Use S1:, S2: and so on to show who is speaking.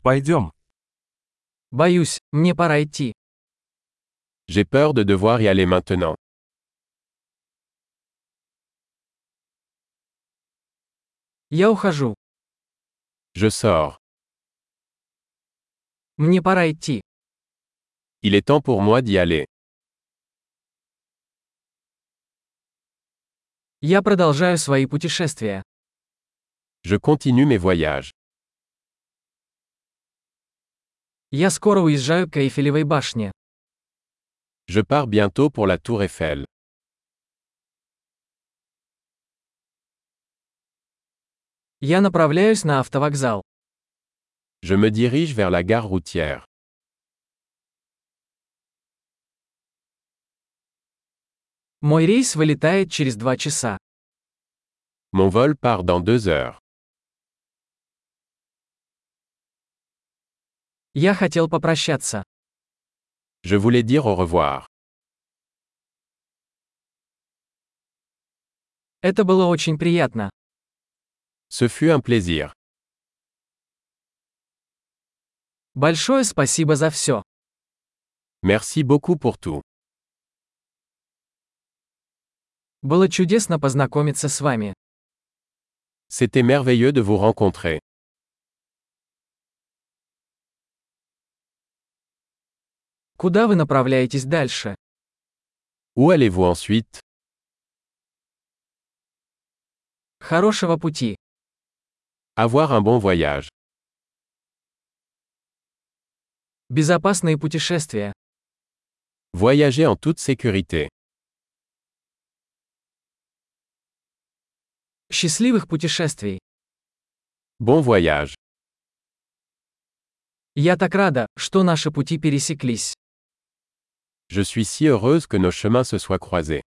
S1: Пойдем.
S2: Боюсь, мне пора идти.
S3: J'ai peur de devoir y aller maintenant.
S2: Я ухожу.
S3: Je sors.
S2: Мне пора идти.
S3: Il est temps pour moi d'y aller.
S2: Я продолжаю свои путешествия.
S3: Je continue mes voyages.
S2: Я скоро уезжаю к Эйфелевой башне.
S3: Je pars bientôt pour la Tour Eiffel.
S2: Я направляюсь на автовокзал.
S3: Je me dirige vers la gare routière.
S2: Мой рейс вылетает через 2 часа.
S3: Mon vol part dans 2 heures.
S2: Я хотел попрощаться.
S3: Je voulais dire au revoir.
S2: Это было очень приятно.
S3: Ce fut un plaisir.
S2: Большое спасибо за все.
S3: Merci beaucoup pour tout.
S2: Было чудесно познакомиться с вами.
S3: C'était merveilleux de vous rencontrer.
S2: Куда вы направляетесь дальше?
S3: Où allez-vous ensuite?
S2: Хорошего пути.
S3: Avoir un bon voyage.
S2: Безопасные путешествия.
S3: Voyager en toute sécurité.
S2: Счастливых путешествий.
S3: Bon voyage.
S2: Я так рада, что наши пути пересеклись.
S3: Je suis si heureuse que nos chemins se soient croisés.